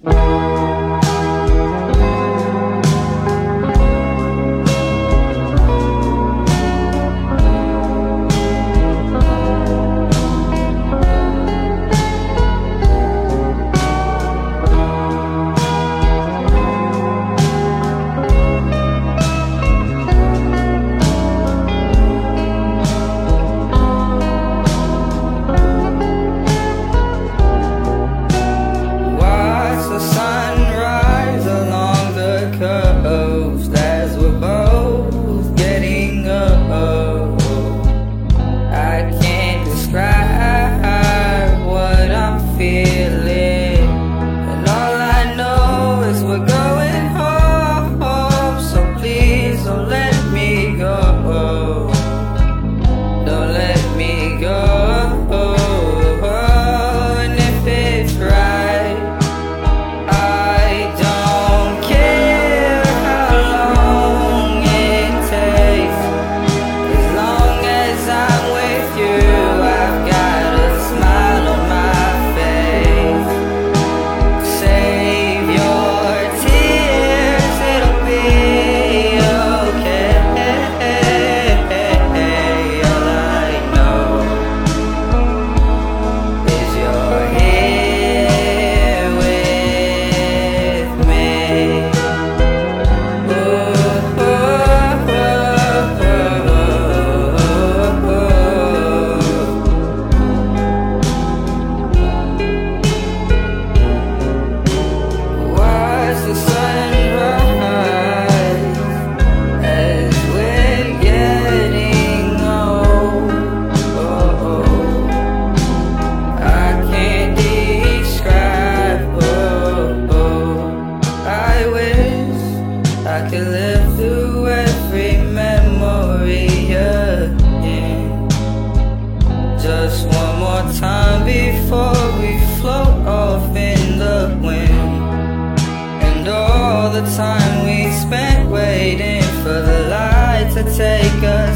As we're both getting old, I can't describe what I'm feeling, and all I know is we're going home. So please don't let me go, don't let me go. And if it's right, I don't care how long it takes. As long as I'm with you, I've got a smile on my face. Save your tears, it'll be okay. All I know is you're here with me. Watch the sunrise as we're getting old. I can't describe. I wish I could live through every memory again, just one more time before we float off in the wind. And all the time we spent waiting for the light to take us